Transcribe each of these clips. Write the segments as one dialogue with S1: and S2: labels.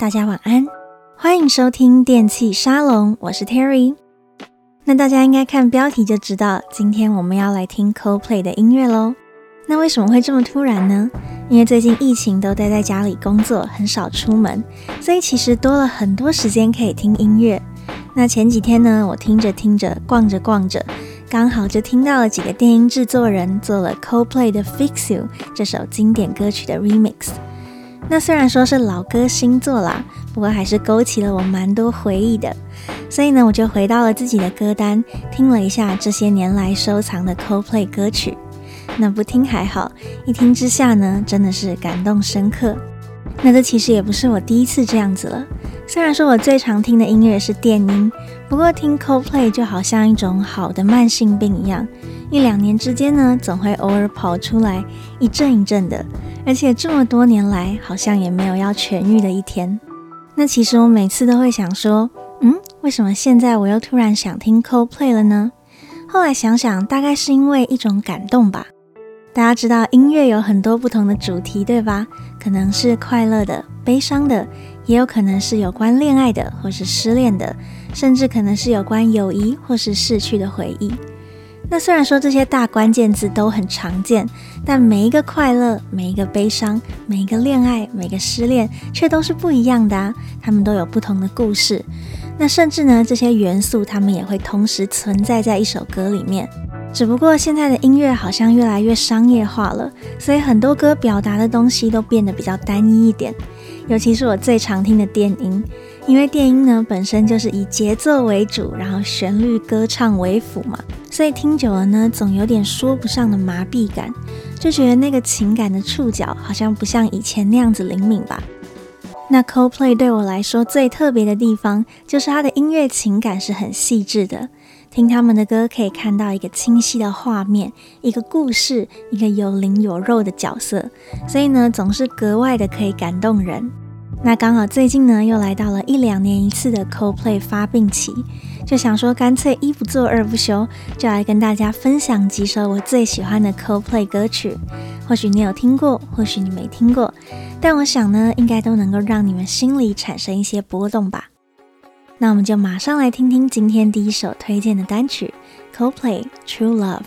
S1: 大家晚安，歡迎收聽電器沙龍，我是 Terry。那大家應該看標題就知道，今天我們要來聽 Coldplay 的音樂咯。那為什麼會這麼突然呢？因為最近疫情都待在家裡工作，很少出門，所以其實多了很多時間可以聽音樂。那前幾天呢，我聽着聽着，逛着逛着，剛好就聽到了幾個電音製作人做了 Coldplay 的 Fix You 這首經典歌曲的 Remix。那雖然說是老歌新作啦，不過還是勾起了我蠻多回憶的。所以呢，我就回到了自己的歌單，聽了一下這些年來收藏的 Coldplay 歌曲。那不聽還好，一聽之下呢，真的是感動深刻。那這其實也不是我第一次這樣子了。雖然說我最常聽的音樂是電音，不過聽 Coldplay 就好像一種好的慢性病一樣，1-2年之間呢，總會偶爾跑出來一陣一陣的，而且這麼多年來好像也沒有要痊癒的一天。那其實我每次都會想說，為什麼現在我又突然想聽 Coldplay 了呢？後來想想，大概是因為一種感動吧。大家知道音樂有很多不同的主題，對吧？可能是快樂的、悲傷的，也有可能是有關戀愛的，或是失戀的，甚至可能是有關友誼或是逝去的回憶。那雖然說這些大關鍵字都很常見，但每一個快樂、每一個悲傷、每一個戀愛、每個失戀，卻都是不一樣的啊！他們都有不同的故事。那甚至呢，這些元素他們也會同時存在在一首歌裡面。只不過現在的音樂好像越來越商業化了，所以很多歌表達的東西都變得比較單一一點。尤其是我最常聽的電音，因為電音呢本身就是以節奏為主，然後旋律歌唱為輔嘛，所以聽久了呢，總有點說不上的麻痹感，就覺得那個情感的觸角好像不像以前那樣子靈敏吧。那 Coldplay 對我來說最特別的地方，就是它的音樂情感是很細緻的。聽他們的歌可以看到一個清晰的畫面，一個故事，一個有靈有肉的角色，所以呢，總是格外的可以感動人。那剛好最近呢，又來到了1-2年一次的 Coldplay 發病期，就想說乾脆一不做二不休，就來跟大家分享幾首我最喜歡的 Coldplay 歌曲。或許你有聽過，或許你沒聽過，但我想呢，應該都能夠讓你們心裡產生一些波動吧。那我們就馬上來聽聽今天第一首推薦的單曲 Coldplay True Love。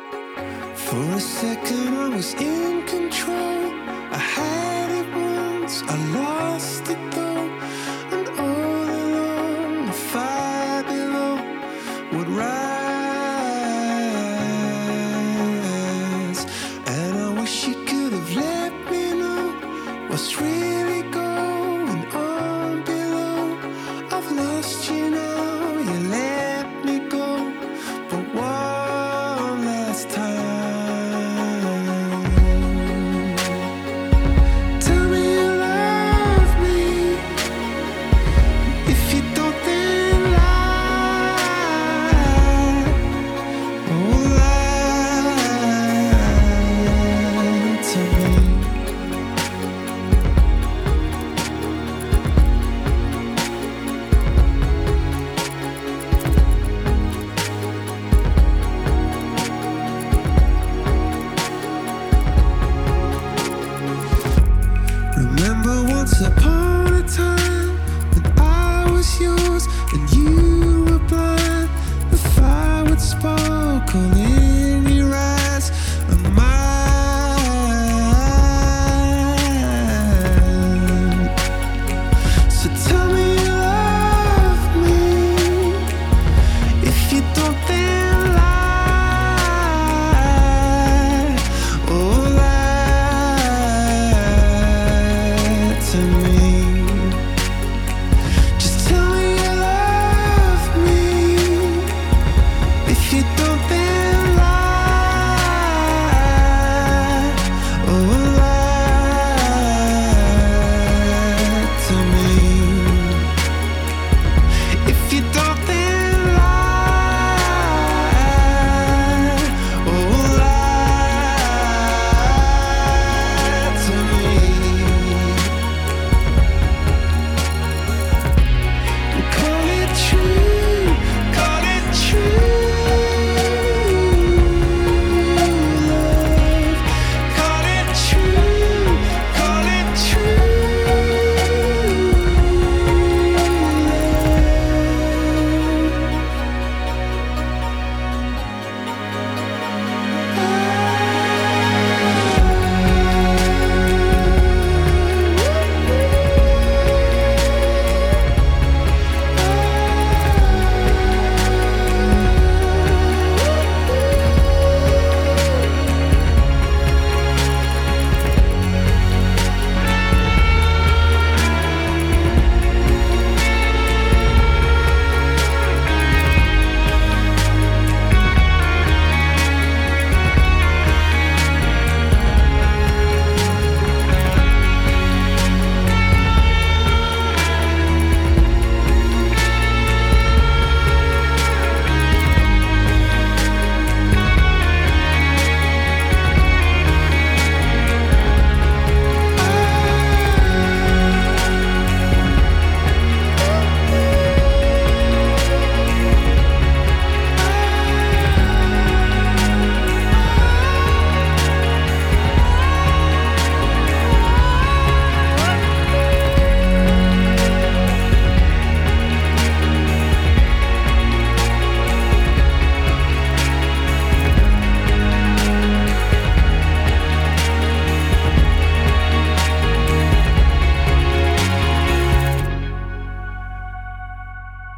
S2: For a second I was in control, I had it once, I lost it though, and all along the fire below would rise, and I wish you could have let me know what's really going on below. I've lost you now, you let me go, but one last time. Tell me you love me. If you don't, then lie. Oh, lie to me. Remember once upon a time when I was yours and you were blind, the fire would sparkle in your eyes and mine. So tell me you love me. If you don't, then lie. Oh, lie to me. Just tell me you love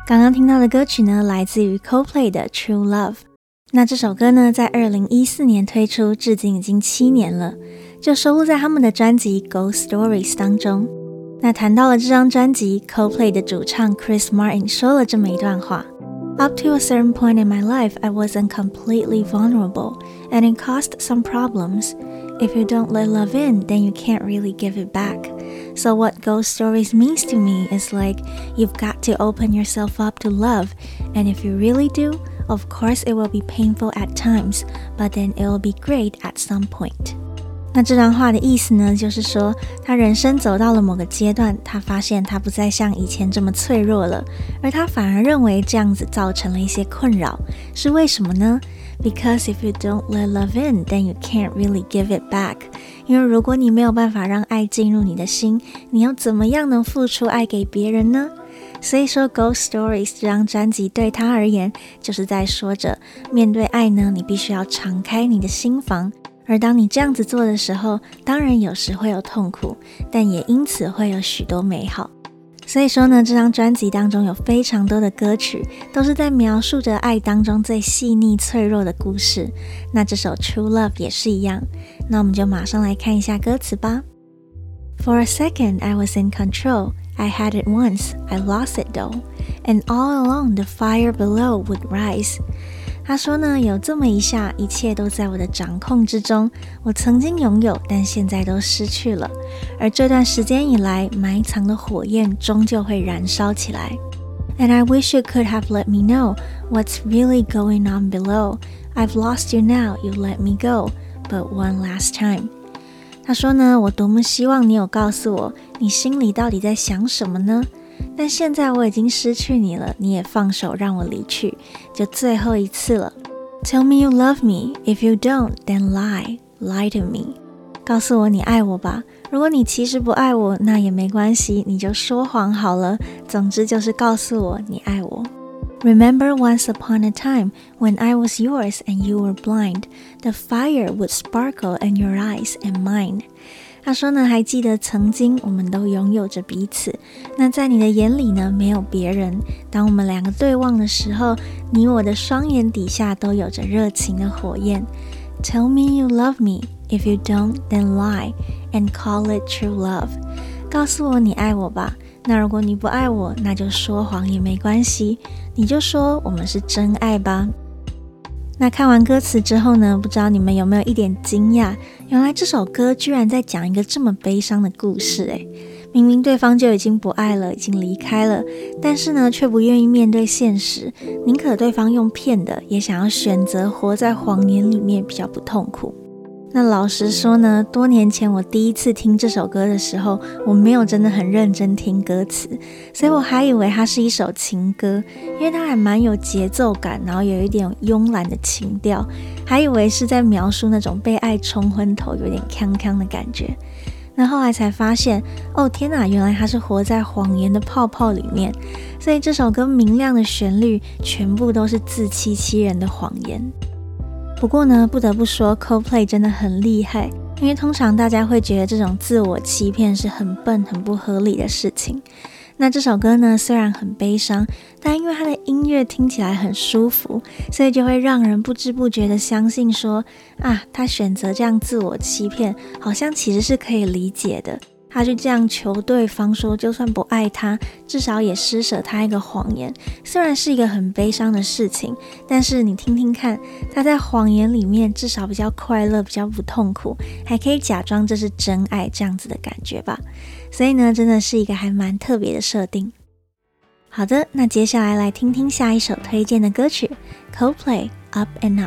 S1: 剛剛聽到的歌曲呢，來自於 Coldplay 的 True Love。那這首歌呢，在2014年推出，至今已經7年了，就收錄在他們的專輯 Ghost Stories 當中。那談到了這張專輯 ，Coldplay 的主唱 Chris Martin 說了這麼一段話。Up to a certain point in my life, I wasn't completely vulnerable, and it caused some problems. If you don't let love in, then you can't really give it back. So what Ghost Stories means to me is like, you've got to open yourself up to love, and if you really do, of course it will be painful at times, but then it will be great at some point. 那這段話的意思呢，就是說他人生走到了某個階段，他發現他不再像以前這麼脆弱了，而他反而認為這樣子造成了一些困擾，是為什麼呢？ Because if you don't let love in, then you can't really give it back. 因為如果你沒有辦法讓愛進入你的心，你要怎麼樣能付出愛給別人呢？所以說 Ghost Stories 這張專輯對他而言，就是在說着面對愛呢，你必須要敞開你的心房，而當你這樣子做的時候，當然有時會有痛苦，但也因此會有許多美好。所以說呢，這張專輯當中有非常多的歌曲，都是在描述着愛當中最細膩脆弱的故事。那這首 True Love 也是一樣。那我們就馬上來看一下歌詞吧。For a second, I was in control. I had it once, I lost it though. And all along, the fire below would rise. 他說呢，有這麼一下，一切都在我的掌控之中。我曾經擁有，但現在都失去了。而這段時間以來，埋藏的火焰終究會燃燒起來。And I wish you could have let me know what's really going on below. I've lost you now, you let me go, but one last time. 他說呢，我多麼希望你有告訴我，你心裡到底在想什麼呢？但現在我已經失去你了，你也放手讓我離去，就最後一次了。Tell me you love me, if you don't, then lie to me. 告訴我你愛我吧，如果你其實不愛我，那也沒關係，你就說謊好了。總之就是告訴我你愛我。Remember once upon a time when I was yours and you were blind, the fire would sparkle in your eyes and mine. 他說呢，還記得曾經我們都擁有着彼此，那在你的眼裡呢，沒有別人。當我們兩個對望的時候，你我的雙眼底下都有着熱情的火焰。Tell me you love me, if you don't, then lie, and call it true love. 告訴我你愛我吧，那如果你不愛我，那就說謊也沒關係，你就說我們是真愛吧。那看完歌詞之後呢，不知道你們有沒有一點驚訝，原來這首歌居然在講一個這麼悲傷的故事誒。明明對方就已經不愛了，已經離開了，但是呢，卻不願意面對現實，寧可對方用騙的，也想要選擇活在謊言裡面，比較不痛苦。那老實說呢，多年前我第一次聽這首歌的時候，我沒有真的很認真聽歌詞，所以我還以為它是一首情歌，因為它還蠻有節奏感，然後有一點慵懶的情調，還以為是在描述那種被愛沖昏頭，有點鏘鏘的感覺。那後來才發現，哦天哪，原來它是活在謊言的泡泡裡面，所以這首歌明亮的旋律全部都是自欺欺人的謊言。不過呢，不得不說 Coldplay 真的很厲害，因為通常大家會覺得這種自我欺騙是很笨、很不合理的事情。那這首歌呢，雖然很悲傷，但因為它的音樂聽起來很舒服，所以就會讓人不知不覺的相信說，啊，他選擇這樣自我欺騙，好像其實是可以理解的。他就這樣求對方說，就算不愛他，至少也施捨他一個謊言。雖然是一個很悲傷的事情，但是你聽聽看，他在謊言裡面至少比較快樂，比較不痛苦，還可以假裝這是真愛這樣子的感覺吧。所以呢，真的是一個還蠻特別的設定。好的，那接下來聽聽下一首推薦的歌曲 Coldplay Up and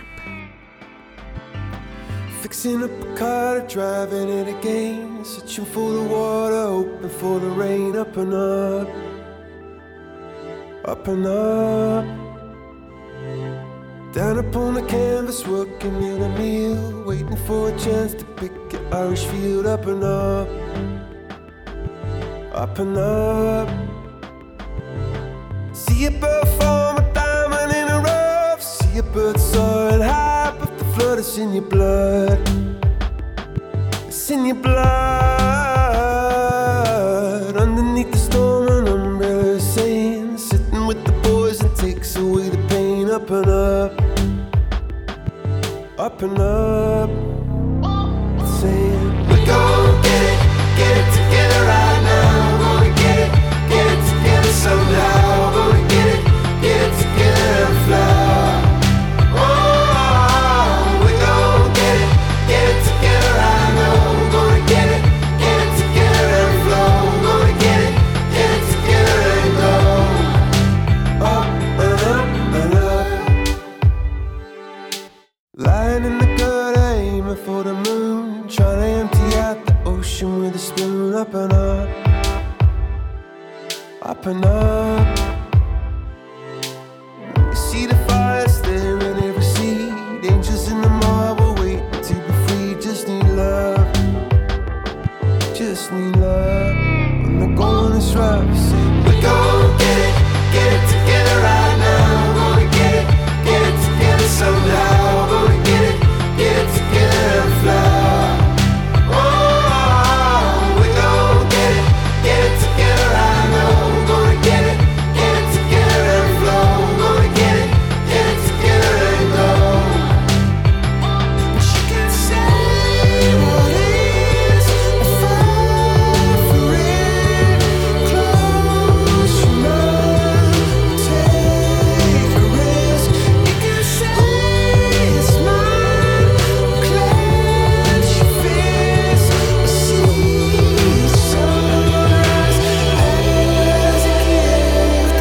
S2: Up。Fixing up a car, driving it again, searching for the water, hoping for the rain. Up and up, up and up. Down upon the canvas, working in a meal, waiting for a chance to pick an Irish field. Up and up, up and up. See a bird form a diamond in a rough, see a bird soaring high, but the flood is in your blood. It's in your blood. Underneath the storm, an umbrella is saying, sitting with the boy up and up, up and up. Saying we're gonna get it together right now. We're gonna get it together somehow. We're gonna get it together and fly. Oh, we're gonna get it together right now. We're gonna get it together and flow. We're gonna get it together and go up and up and up. Lying in the gutter, aiming for the moon, trying to empty out the ocean with a spoon. Up and up, up and up. You see the fire there in every seed. Angels in the marble waiting to be free. Just need love, just need love. When the going is rough, say we're gonna get it together right now. We're gonna get it together somehow. We're gonna get it together and fly. Oh, we're gonna get it together right now. We're gonna get it together and flow. We're gonna get it together and go. But you can say what is far for it. Close your mind, take a risk. You can say it's mine. Clench your fist, see the sunrise as it lifts.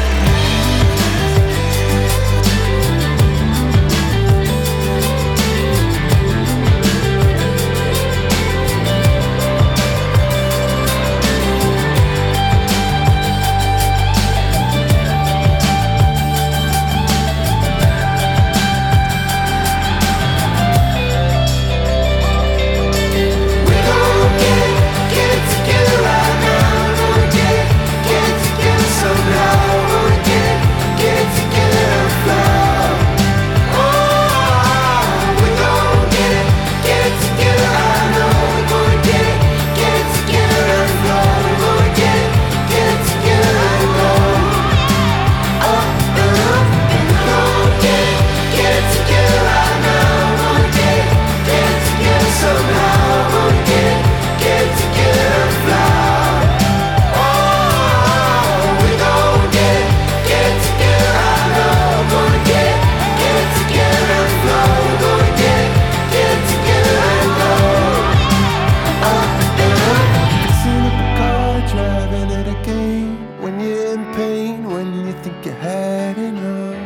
S2: We're gonna get it together right now. We're gonna get it together somehow. We're gonna get it together and fly. Oh, we're gonna get it together right now. We're gonna get it together and fly. We're gonna get it together and go up and up. And we're gonna get it together right now. We're gonna get it together somehow. We're gonna get it together and fly. Oh, we're gonna get it together right now. We're gonna get it together and flow. We're gonna get it together and go up and up. Fixing up a car, driving it again. When you're in pain, when you think you had enough.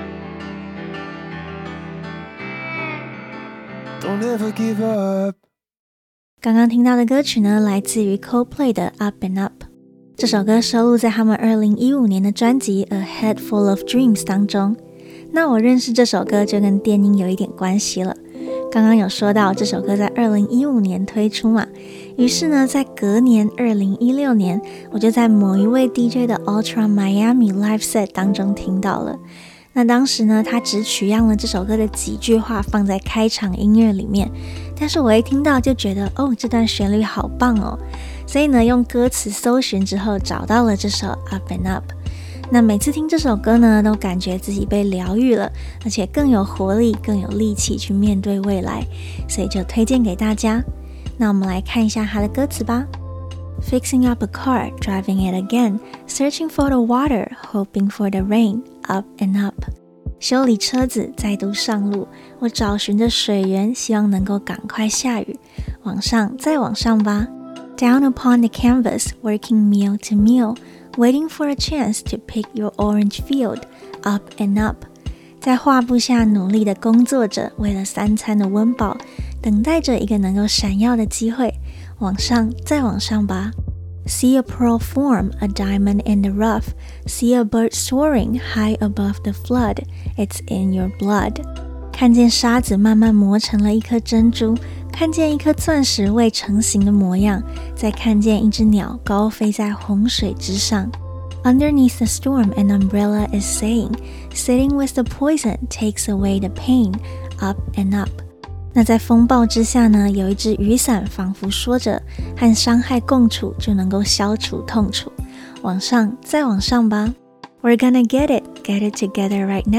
S2: Don't ever give up.
S1: 刚刚听到的歌曲呢，来自于 Coldplay 的 Up and Up。这首歌收錄在他們2015年的專輯 A Head Full of Dreams 當中。那我認識這首歌就跟電音有一點關係了。剛剛有說到這首歌在2015年推出嘛，於是呢，在隔年2016年，我就在某一位 DJ 的 Ultra Miami Live Set 當中聽到了。那當時呢，他只取樣了這首歌的幾句話放在開場音樂裡面，但是我一聽到就覺得這段旋律好棒哦，所以呢，用歌詞搜尋之後找到了這首 Up and Up。那每次聽這首歌呢，都感覺自己被療癒了，而且更有活力，更有力氣去面對未來，所以就推薦給大家。那我們來看一下它的歌詞吧。Fixing up a car, driving it again, searching for the water, hoping for the rain, up and up. 修理車子，再度上路，我找尋着水源，希望能夠趕快下雨，往上，再往上吧。Down upon the canvas, working meal to meal, waiting for a chance to pick your orange field, up and up. 在畫布下努力的工作着，為了三餐的溫飽，等待着一個能夠閃耀的機會，往上，再往上吧。See a pearl form, a diamond in the rough. See a bird soaring high above the flood. It's in your blood. 看見沙子慢慢磨成了一顆珍珠，看見一顆鑽石未成型的模樣，再看見一隻鳥高飛在洪水之上。Underneath the storm, an umbrella is saying, sitting with the poison takes away the pain, up and up. 那在風暴之下呢，有一隻雨傘仿佛說着，和傷害共處就能夠消除痛楚。往上，再往上吧。We're gonna get it together right now,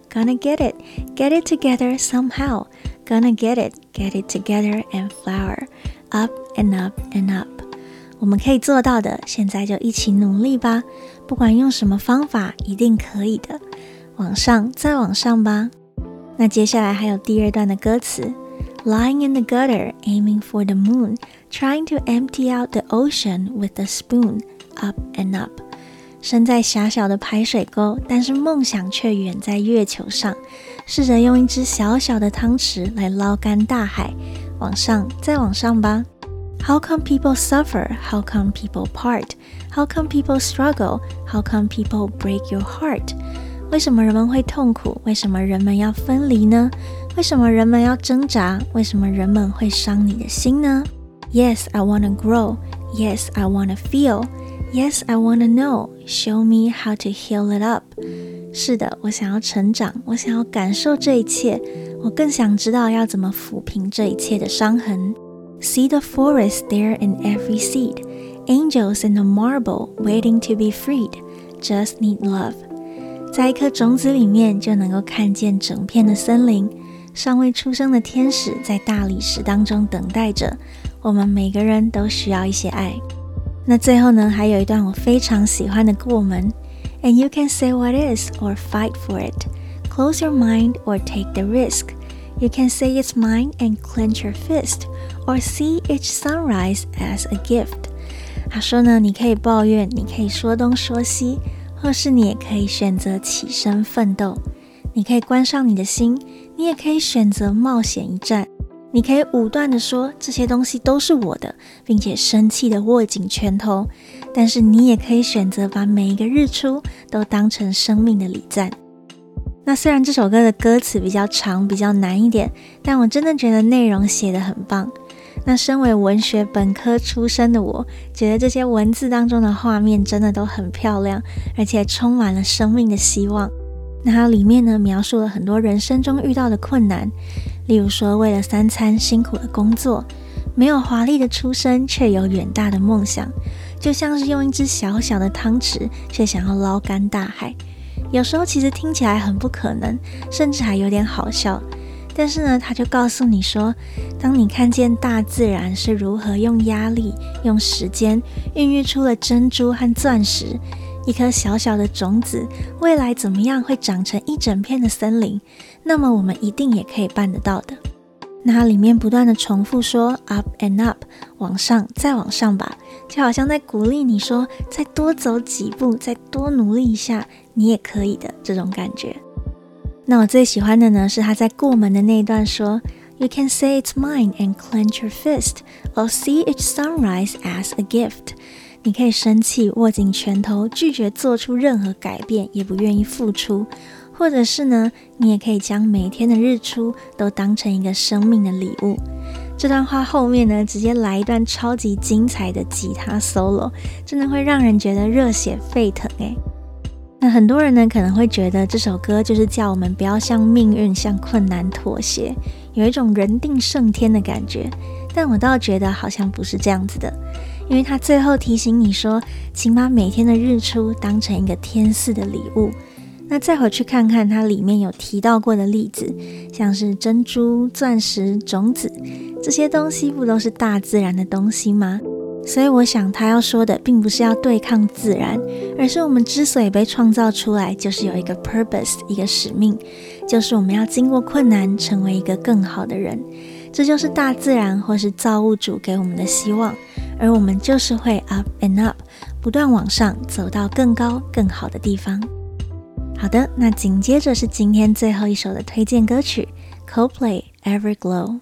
S1: gonna get it together somehow, gonna get it together and flower, up and up and up。我們可以做到的，現在就一起努力吧，不管用什麼方法，一定可以的。往上，再往上吧。那接下來還有第二段的歌詞 Lying in the gutter, aiming for the moon, trying to empty out the ocean with a spoon, up and up。 身在狹小的排水溝，但是夢想卻遠在月球上，試着用一隻小小的湯匙來撈乾大海。往上，再往上吧。How come people suffer? How come people part? How come people struggle? How come people break your heart? 為什麼人們會痛苦？為什麼人們要分離呢？為什麼人們要掙扎？為什麼人們會傷你的心呢？ Yes, I wanna grow. Yes, I wanna feel. Yes, I wanna know. Show me how to heal it up. 是的，我想要成長，我想要感受這一切，我更想知道要怎麼撫平這一切的傷痕。See the forest there in every seed. Angels in the marble waiting to be freed. Just need love. 在一顆種子裡面就能夠看見整片的森林，尚未出生的天使在大理石當中等待着，我們每個人都需要一些愛。那最後呢，還有一段我非常喜歡的過門 And you can say what is or fight for it. Close your mind or take the risk. You can say it's mine and clench your fist or see each sunrise as a gift. 他說呢，你可以抱怨，你可以說東說西，或是你也可以選擇起身奮鬥，你可以關上你的心，你也可以選擇冒險一戰，你可以武斷地說這些東西都是我的，並且生氣地握緊拳頭，但是你也可以選擇把每一個日出都當成生命的禮讚。那雖然這首歌的歌詞比較長，比較難一點，但我真的覺得內容寫得很棒。那身為文學本科出身的我，覺得這些文字當中的畫面真的都很漂亮，而且充滿了生命的希望。那它裡面呢，描述了很多人生中遇到的困難，例如說為了3餐辛苦的工作，沒有華麗的出身，卻有遠大的夢想，就像是用一隻小小的湯匙，卻想要撈乾大海。有時候其實聽起來很不可能，甚至還有點好笑。但是呢，他就告訴你說，當你看見大自然是如何用壓力、用時間孕育出了珍珠和鑽石，一顆小小的種子，未來怎麼樣會長成一整片的森林，那麼我們一定也可以辦得到的。那它裡面不斷的重複說 up and up， 往上再往上吧，就好像在鼓勵你說，再多走幾步，再多努力一下，你也可以的這種感覺。那我最喜歡的呢，是他在過門的那一段說 You can say it's mine and clench your fist or see each sunrise as a gift. 你可以生氣，握緊拳頭，拒絕做出任何改變，也不願意付出。或者是呢，你也可以將每天的日出都當成一個生命的禮物。這段話後面呢，直接來一段超級精彩的吉他 solo， 真的會讓人覺得熱血沸騰耶。那很多人呢，可能會覺得這首歌就是叫我們不要向命運、向困難妥協，有一種人定勝天的感覺。但我倒覺得好像不是這樣子的，因為他最後提醒你說，請把每天的日出當成一個天賜的禮物。那再回去看看它裡面有提到過的例子，像是珍珠、鑽石、種子，這些東西不都是大自然的東西嗎？所以我想他要說的並不是要對抗自然，而是我們之所以被創造出來，就是有一個 purpose， 一個使命，就是我們要經過困難，成為一個更好的人。這就是大自然或是造物主給我們的希望，而我們就是會 up and up， 不斷往上，走到更高更好的地方。好的，那緊接着是今天最後一首的推薦歌曲 Coldplay Everglow。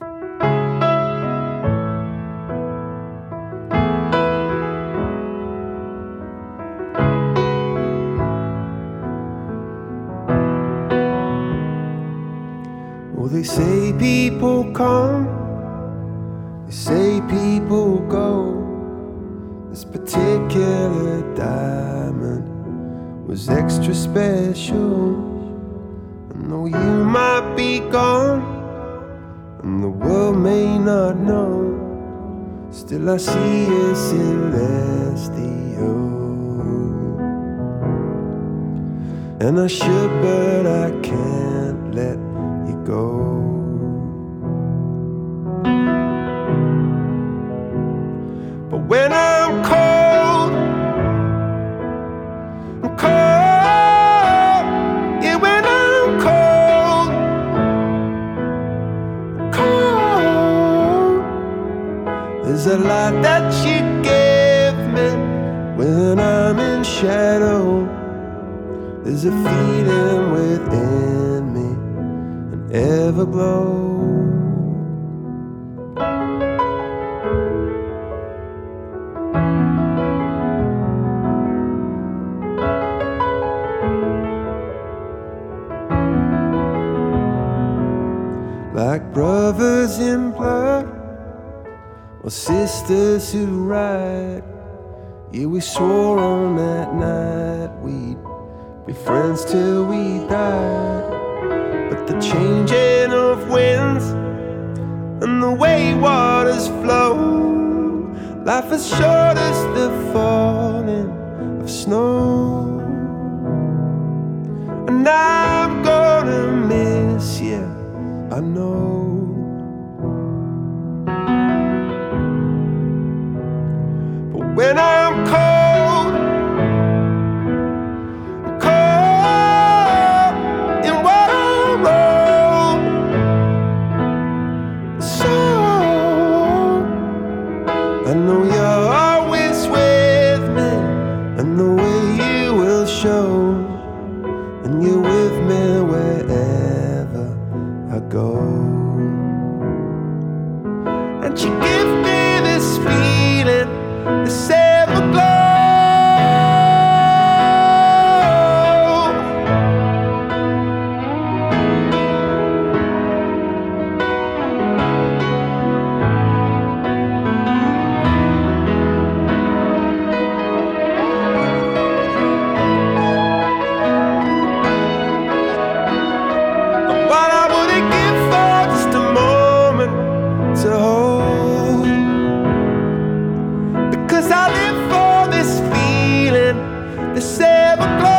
S2: They say people come, they say people go. This particular diamond was extra special. I know you might be gone, and the world may not know. Still I see it celestial. And I should, but I can't let you go. But when I'm cold, I'm cold. Yeah, when I'm cold, cold. There's a light that you give me when I'm in shadow. There's a feeling within me, an everglow. Like brothers in blood, or sisters who ride. Yeah, we swore on that night we'd be friends till we died. But the changing of winds and the way waters flow, life is short as the falling of snow. And I'm gonna miss you, I know. But when I'm cold, I'm cold in what I wrote. So I know you're always with me, and the way you will show, and you're with me wherever I go. And you give me this feeling, this everglow. What I wouldn't give for just a moment to hold, because I live for this feeling, this everglow.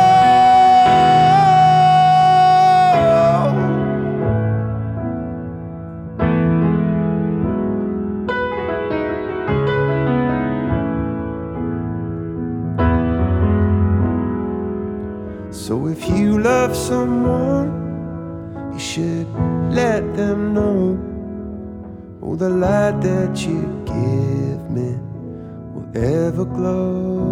S2: So if you love someone, you should let them know. Oh, the light that you give me will ever glow.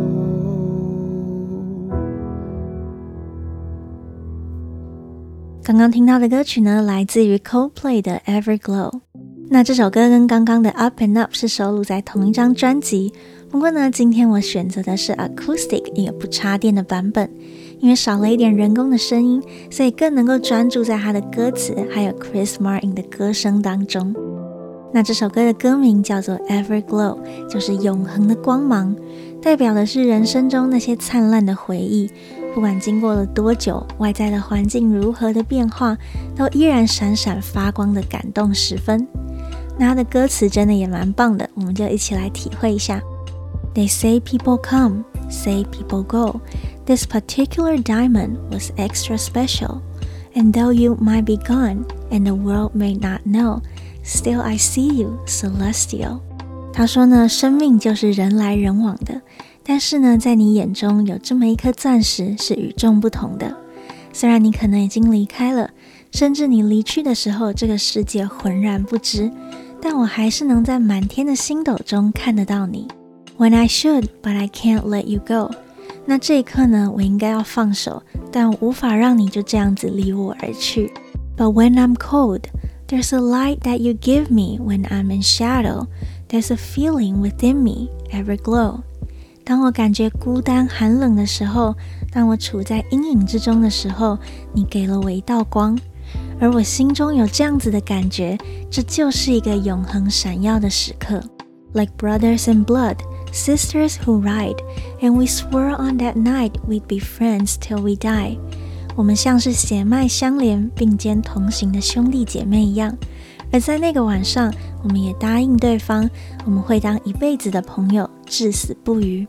S1: 刚刚听到的歌曲呢，来自于 Coldplay 的 Everglow。那这首歌跟刚刚的 Up and Up 是收录在同一張專輯，不過呢，今天我選擇的是 Acoustic 一個不插電的版本，因為少了一點人工的聲音，所以更能夠專注在它的歌詞還有 Chris Martin 的歌聲當中。那這首歌的歌名叫做 Everglow， 就是永恆的光芒，代表的是人生中那些燦爛的回憶，不管經過了多久，外在的環境如何的變化，都依然閃閃發光的感動時分。那它的歌詞真的也蠻棒的，我們就一起來體會一下。They say people come, say people go. This particular diamond was extra special. And though you might be gone, and the world may not know, still I see you, celestial. 他說呢，生命就是人來人往的，但是呢，在你眼中有這麼一顆鑽石是與眾不同的。雖然你可能已經離開了，甚至你離去的時候，這個世界渾然不知，但我還是能在滿天的星斗中看得到你。When I should, but I can't let you go. 那這一刻呢，我應該要放手，但我無法讓你就這樣子離我而去。But when I'm cold, there's a light that you give me when I'm in shadow. There's a feeling within me, everglow. 當我感覺孤單寒冷的時候，當我處在陰影之中的時候，你給了我一道光，而我心中有這樣子的感覺，這就是一個永恆閃耀的時刻。Like brothers in blood.Sisters who ride, and we swore on that night we'd be friends till we die. 我們像是血脈相連、並肩同行的兄弟姐妹一樣，而在那個晚上，我們也答應對方，我們會當一輩子的朋友，至死不渝。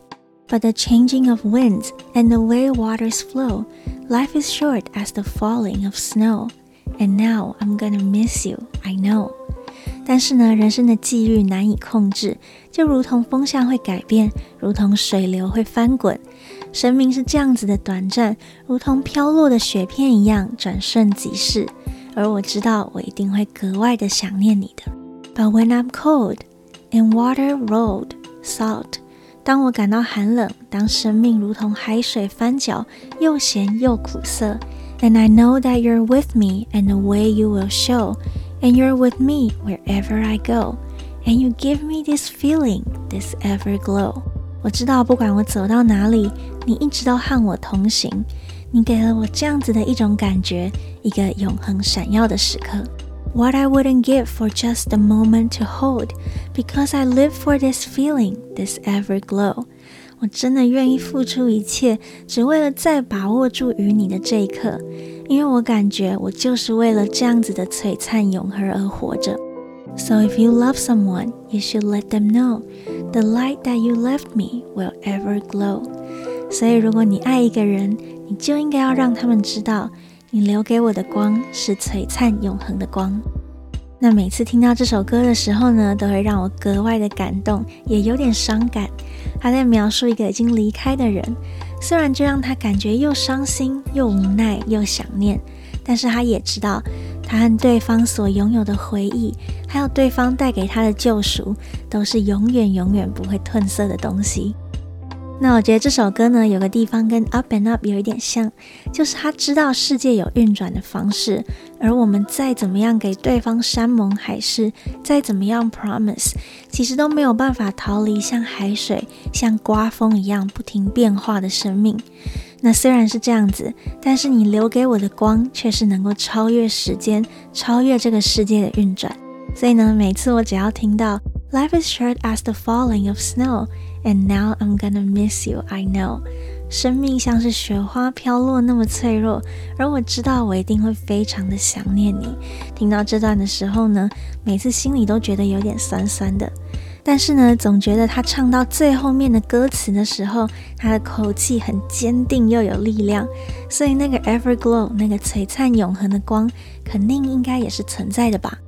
S1: But the changing of winds and the way waters flow, life is short as the falling of snow. And now I'm gonna miss you, I know.但是呢，人生的際遇難以控制，就如同風向會改變，如同水流會翻滾。生命是這樣子的短暫，如同飄落的雪片一樣，轉瞬即逝。而我知道，我一定會格外的想念你的。But when I'm cold and water rolled salt， 當我感到寒冷，當生命如同海水翻攪，又鹹又苦澀。And I know that you're with me and the way you will show.And you're with me wherever I go. And you give me this feeling, this everglow. 我知道不管我走到哪裡，你一直都和我同行。你給了我這樣子的一種感覺，一個永恆閃耀的時刻。What I wouldn't give for just a moment to hold, because I live for this feeling, this everglow. 我真的願意付出一切，只為了再把握住與你的這一刻，因為我感覺我就是為了這樣子的璀璨永恆而活着。So if you love someone, you should let them know the light that you left me will ever glow. 所以如果你愛一個人，你就應該要讓他們知道，你留給我的光是璀璨永恆的光。那每次聽到這首歌的時候呢，都會讓我格外的感動，也有點傷感。他在描述一個已經離開的人，雖然這讓他感覺又傷心又無奈又想念，但是他也知道他和對方所擁有的回憶，還有對方帶給他的救贖，都是永遠永遠不會褪色的東西。那我覺得這首歌呢，有個地方跟 Up and Up 有一點像，就是他知道世界有運轉的方式，而我們再怎麼樣給對方山盟海誓，再怎麼樣 promise， 其實都沒有辦法逃離像海水、像颳風一樣不停變化的生命。那雖然是這樣子，但是你留給我的光卻是能夠超越時間，超越這個世界的運轉。所以呢，每次我只要聽到 Life is short as the falling of snow,And now I'm gonna miss you, I know. 生命像是雪花飄落那麼脆弱，而我知道我一定會非常的想念你。聽到這段的時候呢，每次心裡都覺得有點酸酸的。但是呢，總覺得他唱到最後面的歌詞的時候，他的口氣很堅定又有力量，所以那個 everglow， 那個璀璨永恆的光，肯定應該也是存在的吧。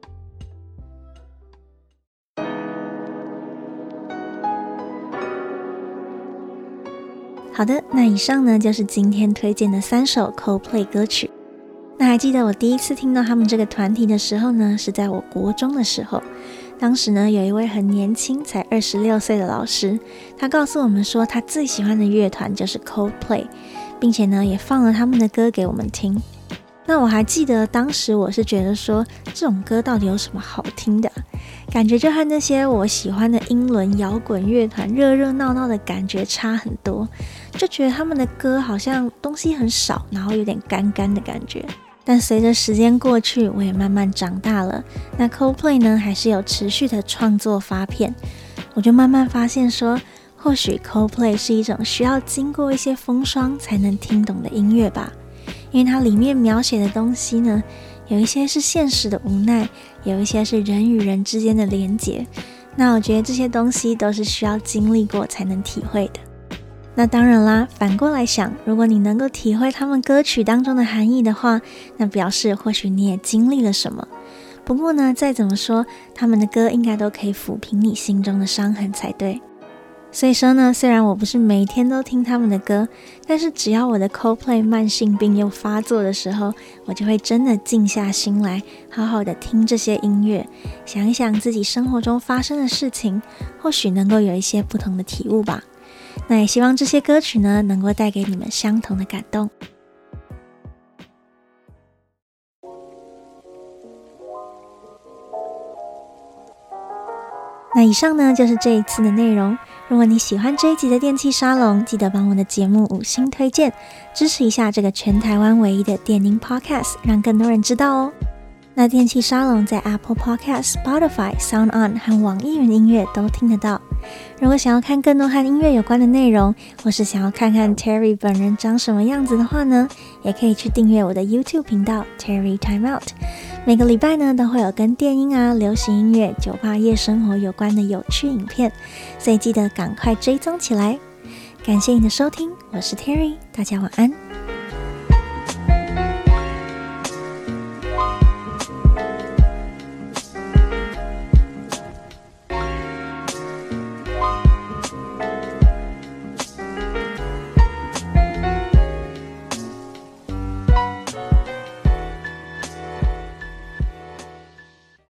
S1: 好的，那以上呢就是今天推薦的3首 Coldplay 歌曲。那還記得我第一次聽到他們這個團體的時候呢，是在我國中的時候。當時呢，有一位很年輕，才26歲的老師，他告訴我們說，他最喜歡的樂團就是 Coldplay， 並且呢，也放了他們的歌給我們聽。那我還記得當時我是覺得說，這種歌到底有什麼好聽的？感覺就和那些我喜歡的英倫搖滾樂團熱熱鬧鬧的感覺差很多，就覺得他們的歌好像東西很少，然後有點乾乾的感覺。但隨着時間過去，我也慢慢長大了。那 Coldplay 呢，還是有持續的創作發片，我就慢慢發現說，或許 Coldplay 是一種需要經過一些風霜才能聽懂的音樂吧。因為它裡面描寫的東西呢，有一些是現實的無奈，有一些是人與人之間的連結。那我覺得這些東西都是需要經歷過才能體會的。那當然啦，反過來想，如果你能夠體會他們歌曲當中的含義的話，那表示或許你也經歷了什麼。不過呢，再怎麼說，他們的歌應該都可以撫平你心中的傷痕才對。所以說呢，雖然我不是每天都聽他們的歌，但是只要我的 Coldplay 慢性病又發作的時候，我就會真的靜下心來，好好的聽這些音樂，想一想自己生活中發生的事情，或許能夠有一些不同的體悟吧。那也希望這些歌曲呢，能夠帶給你們相同的感動。那以上呢，就是這一次的內容。如果你喜歡這一集的電氣沙龍，記得幫我的節目5星推薦，支持一下這個全台灣唯一的電音 Podcast， 讓更多人知道哦。那電氣沙龍在 Apple Podcast、Spotify、SoundOn 和網易雲音樂都聽得到。如果想要看更多和音樂有關的內容，或是想要看看 Terry 本人長什麼樣子的話呢，也可以去訂閱我的 YouTube 頻道 Terry Time Out。每個禮拜呢，都會有跟電音啊、流行音樂、酒吧夜生活有關的有趣影片，所以記得趕快追蹤起來。 感謝你的收聽，我是 Terry，大家晚安。